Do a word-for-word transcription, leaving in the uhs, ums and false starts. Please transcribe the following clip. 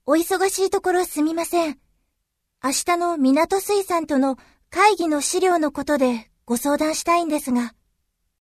お忙しいところすみません。明日の港水産との会議の資料のことでご相談したいんですが。